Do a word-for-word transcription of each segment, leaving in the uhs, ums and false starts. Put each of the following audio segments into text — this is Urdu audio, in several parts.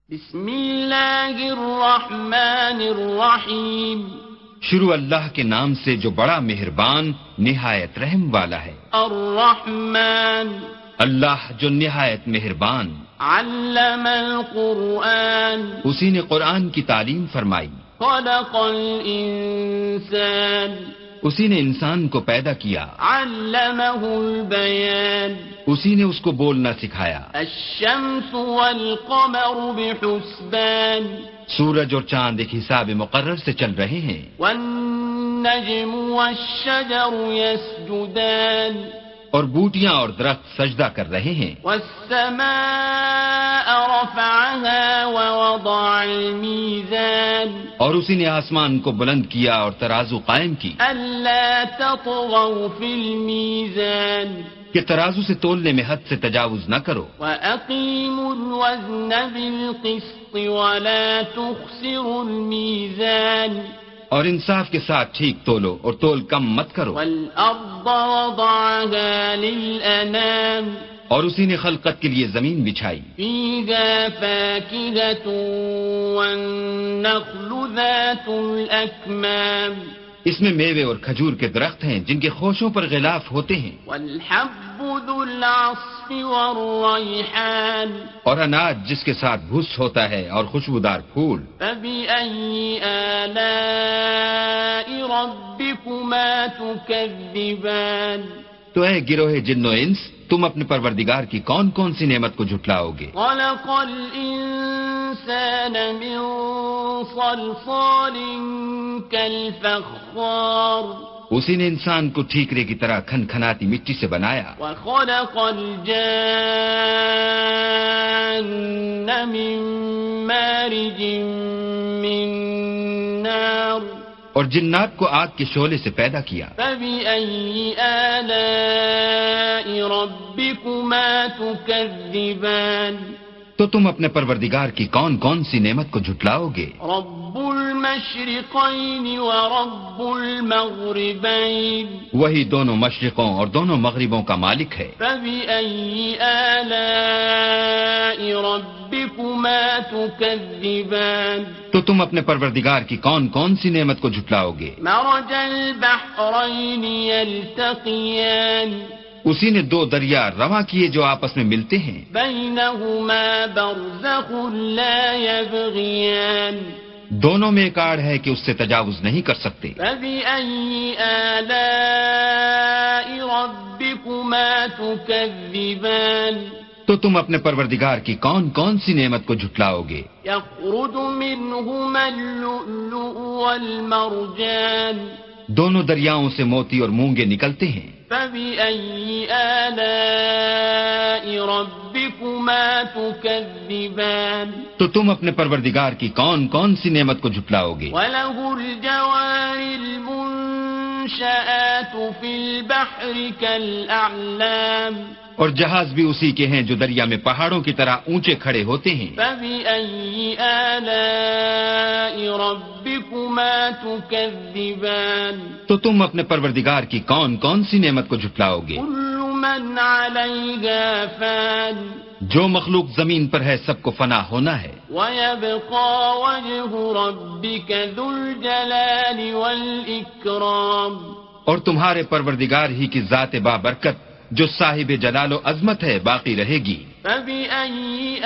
بسم اللہ الرحمن الرحیم، شروع اللہ کے نام سے جو بڑا مہربان نہایت رحم والا ہے۔ الرحمن، اللہ جو نہایت مہربان۔ علم القرآن، اسی نے قرآن کی تعلیم فرمائی۔ خلق الانسان، اسی نے انسان کو پیدا کیا۔ علمہ البیان، اسی نے اس کو بولنا سکھایا۔ الشمس والقمر بحسبان، سورج اور چاند ایک حساب مقرر سے چل رہے ہیں۔ والنجم والشجر يسجدان، اور بوٹیاں اور درخت سجدہ کر رہے ہیں۔ والسماء رفعها ووضع الميزان، اور اسی نے آسمان کو بلند کیا اور ترازو قائم کی ألا تطغوا في الميزان، کہ ترازو سے تولنے میں حد سے تجاوز نہ کرو۔ وأقيموا الوزن بالقسط ولا تخسروا الميزان، اور انصاف کے ساتھ ٹھیک تولو اور تول کم مت کرو۔ والأرض وضعها للأنام، اور اسی نے خلقت کے لیے زمین بچھائی۔ فيها فاكهة والنخل ذات الأكمام، اس میں میوے اور کھجور کے درخت ہیں جن کے خوشوں پر غلاف ہوتے ہیں۔ والحب ذو العصف والريحان، اور اناج جس کے ساتھ بھس ہوتا ہے اور خوشبودار پھول۔ فبأي آلاء ربكما تكذبان، تو اے گروہ جن و انس، تم اپنے پروردگار کی کون کون سی نعمت کو جھٹلاؤ گے؟ خلق الإنسان من صلصال كالفخار، اسی نے انسان کو ٹھیکرے کی طرح کھن کھناتی مٹی سے بنایا۔ وخلق الجان من مارج من نار، اور جنات کو آگ کے شعلے سے پیدا کیا۔ فبأي آلاء ربكما تكذبان، تو تم اپنے پروردگار کی کون کون سی نعمت کو جھٹلاؤ گے؟ رب المشرقين ورب المغربين، وہی دونوں مشرقوں اور دونوں مغربوں کا مالک ہے۔ فبأي آلاء ربكما تكذبان، تو تم اپنے پروردگار کی کون کون سی نعمت کو جھٹلاؤ گے؟ مرج البحرين يلتقيان، اسی نے دو دریا رواں کیے جو آپس میں ملتے ہیں۔ بينهما برزخ لا يبغيان، دونوں میں ایک آڑ ہے کہ اس سے تجاوز نہیں کر سکتے۔ فبأي آلاء ربكما تكذبان، تو تم اپنے پروردگار کی کون کون سی نعمت کو جھٹلاؤ گے؟ يخرج منهما اللؤلؤ والمرجان، دونوں دریاؤں سے موتی اور مونگے نکلتے ہیں۔ فبأي آلاء ربكما تكذبان، تو تم اپنے پروردگار کی کون کون سی نعمت کو جھٹلاؤ گے؟ وله الجوار المنشآت في البحر كالأعلام، اور جہاز بھی اسی کے ہیں جو دریا میں پہاڑوں کی طرح اونچے کھڑے ہوتے ہیں۔ فبأي آلاء ربكما تكذبان، تو تم اپنے پروردگار کی کون کون سی نعمت کو جھٹلاؤ گے؟ كل من عليها فان، جو مخلوق زمین پر ہے سب کو فنا ہونا ہے۔ ويبقى وجه ربك ذو الجلال والإكرام، اور تمہارے پروردگار ہی کی ذات بابرکت جو صاحب جلال و عظمت ہے باقی رہے گی۔ فبأي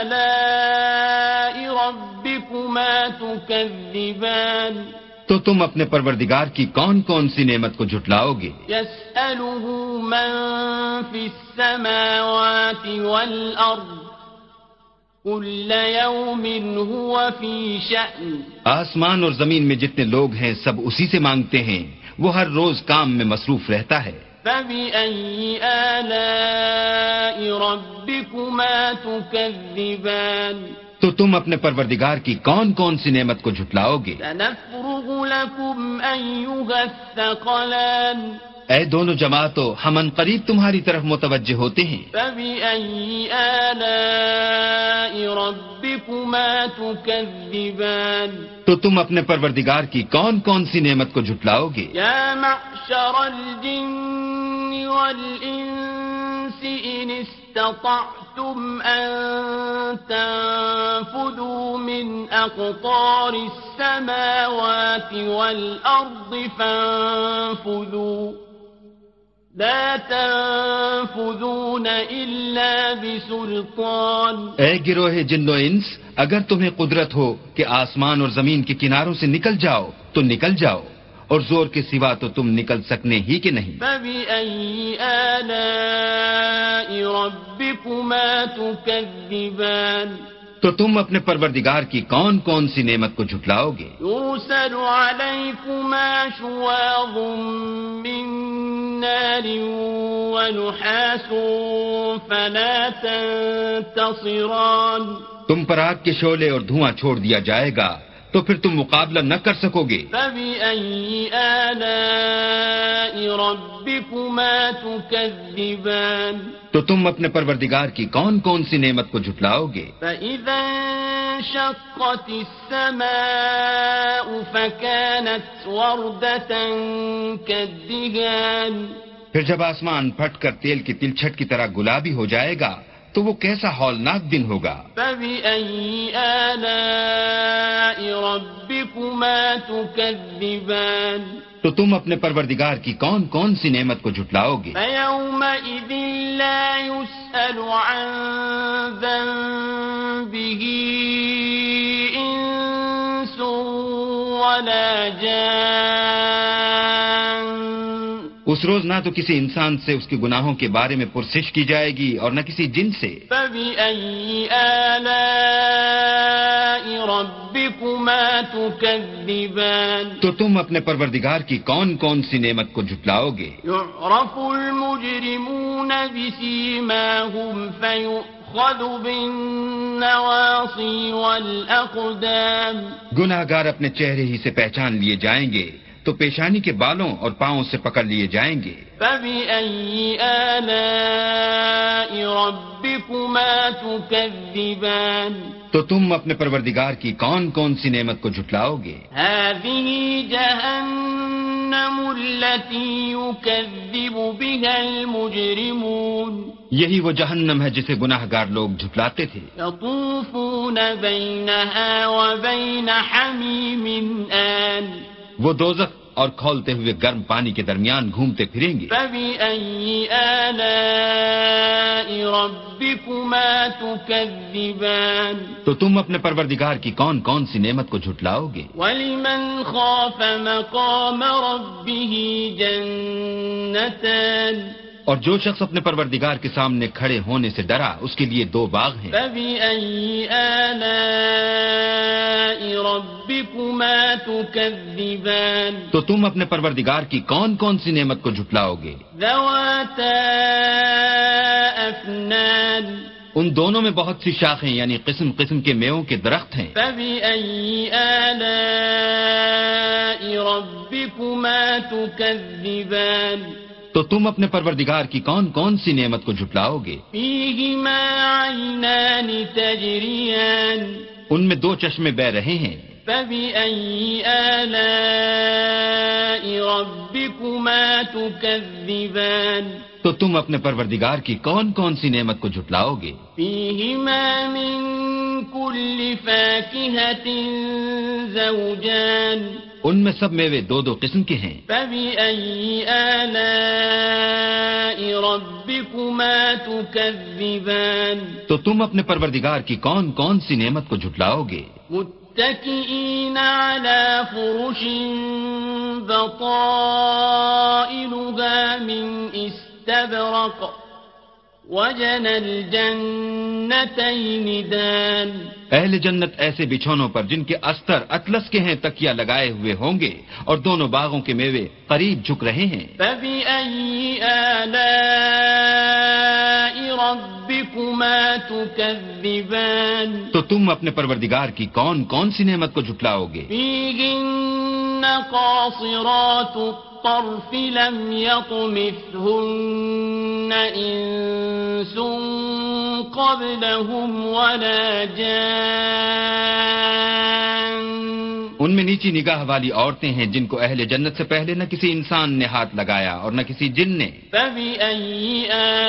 آلاء ربكما تكذبان، تو تم اپنے پروردگار کی کون کون سی نعمت کو جھٹلاؤ گے؟ يسأله من في السماوات والأرض كل يوم هو في شأن، آسمان اور زمین میں جتنے لوگ ہیں سب اسی سے مانگتے ہیں، وہ ہر روز کام میں مصروف رہتا ہے۔ فبأي آلاء ربكما تكذبان، تو تم اپنے پروردگار کی کون کون سی نعمت کو جھٹلاؤ گے؟ سنفرغ لكم أيها الثقلان، اے دونوں جماعتوں، ہم ان قریب تمہاری طرف متوجہ ہوتے ہیں۔ فبأي آلاء ربكما تكذبان، تو تم اپنے پروردگار کی کون کون سی نعمت کو جھٹلاؤ گے؟ يا معشر الجن والإنس إن استطعتم أن تنفذوا من أقطار السماوات والأرض فانفذوا لا تنفذون إلا بسلطان. اے گروہ جن و انس، اگر تمہیں قدرت ہو کہ آسمان اور زمین کے کناروں سے نکل جاؤ تو نکل جاؤ، اور زور کے سوا تو تم نکل سکنے ہی کہ نہیں. فَبِأَيِّ آلَاءِ رَبِّكُمَا تُكَذِّبَانِ. تو تم اپنے پروردگار کی کون کون سی نعمت کو جھٹلاؤ گے؟ يُرْسَلُ عَلَيْكُمَا شُوَاظٌ مِّن نَّارٍ وَنُحَاسٌ فَلَا تَنتَصِرَانِ. تم پر آگ کے شعلے اور دھواں چھوڑ دیا جائے گا تو پھر تم مقابلہ نہ کر سکو گے. فَبِأَيِّ آلَاءِ رَبِّكُمَا تُكَذِّبَانِ. تو تم اپنے پروردگار کی کون کون سی نعمت کو جھٹلاؤ گے؟ فَإِذَا انشَقَّتِ السَّمَاءُ فَكَانَتْ وَرْدَةً كَالدِّهَانِ. پھر جب آسمان پھٹ کر تیل کی تلچھٹ کی طرح گلابی ہو جائے گا تو وہ کیسا ہولناک دن ہوگا. فَبِأَيِّ آلَاءِ رَبِّكُمَا تُكَذِّبَانِ. تو تم اپنے پروردگار کی کون کون سی نعمت کو جھٹلاؤ گے؟ فَيَوْمَئِذٍ لَا يُسْأَلُ عَن ذَنبِهِ إِنسٌ وَلَا جَانٌّ. اس روز نہ تو کسی انسان سے اس کے گناہوں کے بارے میں پرسش کی جائے گی اور نہ کسی جن سے. فَبِأَيِّ آلَاءِ رَبِّكُمَا تُكَذِّبَانِ. تو تم اپنے پروردگار کی کون کون سی نعمت کو جھٹلاؤ گے؟ يُعْرَفُ الْمُجْرِمُونَ بِسِيمَاهُمْ فَيُؤْخَذُ بِالنَّوَاصِي وَالْأَقْدَامِ. گناہ گار اپنے چہرے ہی سے پہچان لیے جائیں گے تو پیشانی کے بالوں اور پاؤں سے پکڑ لیے جائیں گے. فَبِأَيِّ آلَاءِ رَبِّكُمَا تُكَذِّبَانِ. تو تم اپنے پروردگار کی کون کون سی نعمت کو جھٹلاؤ گے؟ هَٰذِهِ جَهَنَّمُ الَّتِي يُكَذِّبُ بِهَا الْمُجْرِمُونَ. یہی وہ جہنم ہے جسے گناہ گار لوگ جھٹلاتے تھے. يَطُوفُونَ بَيْنَهَا وَبَيْنَ حَمِيمٍ آنٍ. وہ دوزخ اور کھولتے ہوئے گرم پانی کے درمیان گھومتے پھریں گے. فَبِأَيِّ آلَاءِ رَبِّكُمَا تُكَذِّبَانِ. تو تم اپنے پروردگار کی کون کون سی نعمت کو جھٹلاؤ گے؟ وَلِمَنْ خَافَ مَقَامَ رَبِّهِ جَنَّتَانِ. اور جو شخص اپنے پروردگار کے سامنے کھڑے ہونے سے ڈرا اس کے لیے دو باغ ہیں. فَبِأَيِّ آلَاءِ رَبِّكُمَا تُكَذِّبَانِ. تو تم اپنے پروردگار کی کون کون سی نعمت کو جھٹلاؤ گے؟ ذَوَاتَا أَفْنَانٍ. ان دونوں میں بہت سی شاخیں یعنی قسم قسم کے میووں کے درخت ہیں. فَبِأَيِّ آلَاءِ رَبِّكُمَا تُكَذِّبَانِ. تو تم اپنے پروردگار کی کون کون سی نعمت کو جھٹلاؤ گے؟ فِيهِمَا عَيْنَانِ تَجْرِيَانِ. ان میں دو چشمے بہہ رہے ہیں. فَبِأَيِّ آلَاءِ رَبِّكُمَا تُكَذِّبَانِ. تو تم اپنے پروردگار کی کون کون سی نعمت کو جھٹلاؤ گے؟ فِيهِمَا مِن كُلِّ فَاكِهَةٍ زَوْجَانِ. ان میں سب میوے دو دو قسم کے ہیں. فَبِأَيِّ آلَاءِ رَبِّكُمَا تُكَذِّبَانِ. تو تم اپنے پروردگار کی کون کون سی نعمت کو جھٹلاؤ گے؟ مُتَّكِئِينَ عَلَى فُرُشٍ بَطَائِنُهَا مِنْ إِسْتَبْرَقٍ وَجَنَى الْجَنَّتَيْنِ دَانٍ. اہل جنت ایسے بچھونوں پر جن کے استر اطلس کے ہیں تکیہ لگائے ہوئے ہوں گے اور دونوں باغوں کے میوے قریب جھک رہے ہیں. فَبِأَيِّ آلَاءِ رَبِّكُمَا تُكَذِّبَانِ. تو تم اپنے پروردگار کی کون کون سی نعمت کو جھٹلاؤ گے؟ فِيهِنَّ قَاصِرَاتُ الطَّرْفِ لَمْ يَطْمِثْهُنَّ إِنسٌ قَبْلَهُمْ وَلَا جَانٌّ. ان ان میں نیچی نگاہ والی عورتیں ہیں جن کو اہل جنت سے پہلے نہ کسی انسان نے ہاتھ لگایا اور نہ کسی جن نے. فَبِأَيِّ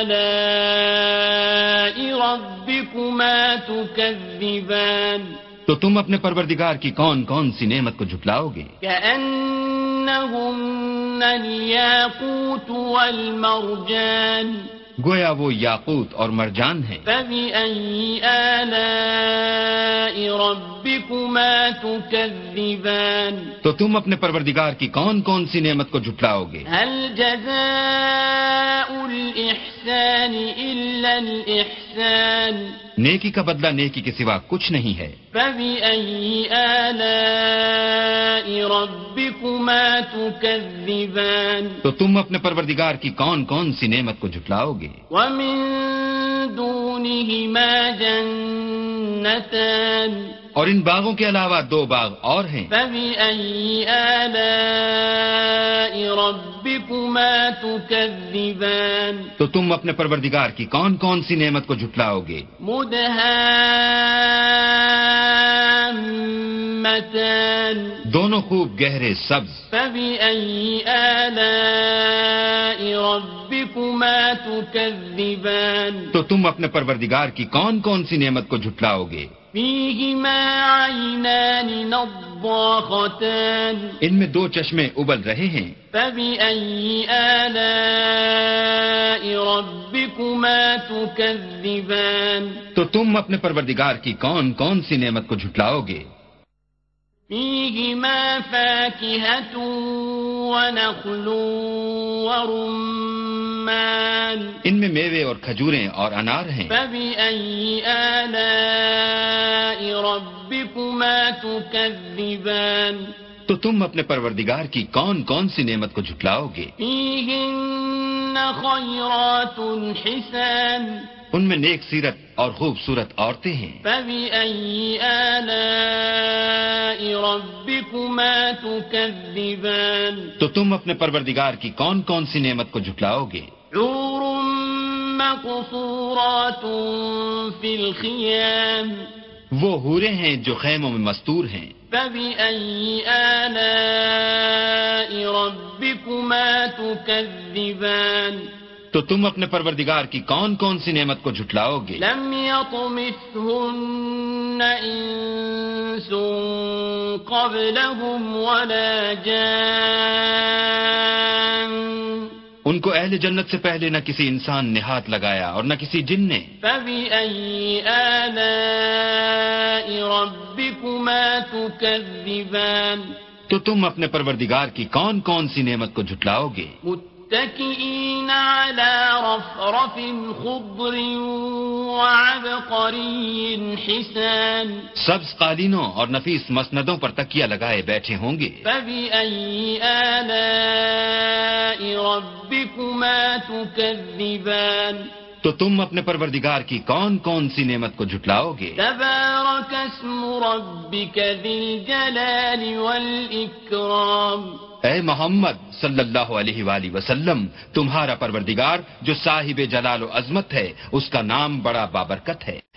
آلَاءِ رَبِّكُمَا تُكَذِّبَانِ تو تم اپنے پروردگار کی کون کون سی نعمت کو جھٹلاؤ گے؟ كَأَنَّهُنَّ الْيَاقُوتُ وَالْمَرْجَانُ گویا وہ یاقوت اور مرجان ہیں. فَبِأَيِّ آلَاءِ رَبِّكُمَا تُكَذِّبَانِ تو تم اپنے پروردگار کی کون کون سی نعمت کو جھٹلاؤ گے؟ هَلْ جَزَاءُ الْإِحْسَانِ إِلَّا الْإِحْسَانُ نیکی کا بدلہ نیکی کے سوا کچھ نہیں ہے. فَبِأَيِّ آلَاءِ رَبِّكُمَا تُكَذِّبَانِ تو تم اپنے پروردگار کی کون کون سی نعمت کو جھٹلاؤ گے؟ وَمِن دُونِهِمَا جَنَّتَانِ اور ان باغوں کے علاوہ دو باغ اور ہیں. فَبِأَيِّ آلَاءِ رَبِّكُمَا تُكَذِّبَانِ تو تم اپنے پروردگار کی کون کون سی نعمت کو جھٹلاؤ گے؟ مُدْهَامَّتَانِ دونوں خوب گہرے سبز. فَبِأَيِّ آلَاءِ رَبِّكُمَا تُكَذِّبَانِ تو تم اپنے پروردگار کی کون کون سی نعمت کو جھٹلاؤ گے؟ فِيهِمَا عَيْنَانِ نَضَّاخَتَانِ ان میں دو چشمے ابل رہے ہیں. فَبِأَيِّ آلَاءِ رَبِّكُمَا تُكَذِّبَانِ تو تم اپنے پروردگار کی کون کون سی نعمت کو جھٹلاؤ گے؟ فِيهِمَا فَاكِهَةٌ وَنَخْلٌ وَرُمَّانٌ ان میں میوے اور کھجوریں اور انار ہیں. فَبِأَيِّ آلَاءِ رَبِّكُمَا تُكَذِّبَانِ تو تم اپنے پروردگار کی کون کون سی نعمت کو جھٹلاؤ گے؟ فِيهِنَّ خَيْرَاتٌ حِسَانٌ ان میں نیک سیرت اور خوبصورت عورتیں ہیں. فَبِأَيِّ آلَاءِ رَبِّكُمَا تُكَذِّبَانِ تو تم اپنے پروردگار کی کون کون سی نعمت کو جھٹلاؤ گے؟ حُورٌ مَّقْصُورَاتٌ فِي الْخِيَامِ وہ حوریں ہیں جو خیموں میں مستور ہیں. فَبِأَيِّ آلَاءِ رَبِّكُمَا تُكَذِّبَانِ تو تم اپنے پروردگار کی کون کون سی نعمت کو جھٹلاؤ گے؟ لَمْ يَطْمِثْهُنَّ إِنسٌ قَبْلَهُمْ وَلَا جَانٌّ ان کو اہل جنت سے پہلے نہ کسی انسان نے ہاتھ لگایا اور نہ کسی جن نے. فَبِأَيِّ آلَاءِ رَبِّكُمَا تُكَذِّبَانِ تو تم اپنے پروردگار کی کون کون سی نعمت کو جھٹلاؤ گے؟ مُتَّكِئِينَ عَلَى رَفْرَفٍ خُضْرٍ وَعَبْقَرِيٍّ حِسَانٍ سبز قالینوں اور نفیس مسندوں پر تکیہ لگائے بیٹھے ہوں گے. فَبِأَيِّ آلَاءِ رَبِّكُمَا تُكَذِّبَانِ تو تم اپنے پروردگار کی کون کون سی نعمت کو جھٹلاؤ گے؟ تبارک اسم ربک ذی الجلال والإکرام اے محمد صلی اللہ علیہ وآلہ وسلم، تمہارا پروردگار جو صاحب جلال و عظمت ہے، اس کا نام بڑا بابرکت ہے.